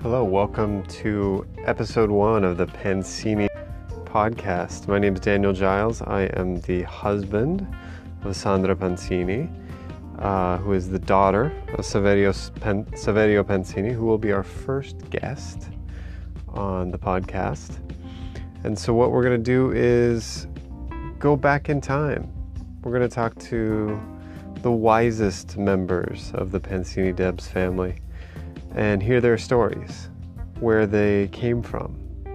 Hello, welcome to episode 1 of the Pancini podcast. My name is Daniel Giles. I am the husband of Sandra Pancini, who is the daughter of Saverio Pancini, who will be our first guest on the podcast. And so what we're going to do is go back in time. We're going to talk to the wisest members of the Pancini Debs family and hear their stories, where they came from,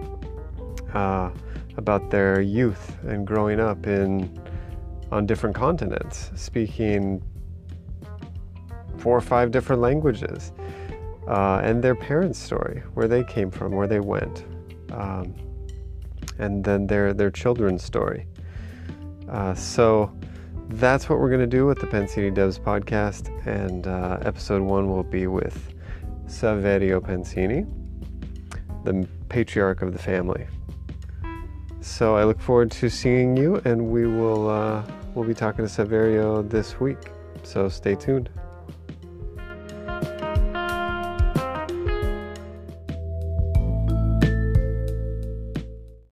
about their youth and growing up on different continents, speaking 4 or 5 different languages, and their parents' story, where they came from, where they went, and then their children's story. So that's what we're going to do with the Pancini Debs podcast, and episode 1 will be with Saverio Pancini, the patriarch of the family. So I look forward to seeing you, and we'll be talking to Saverio this week. So stay tuned.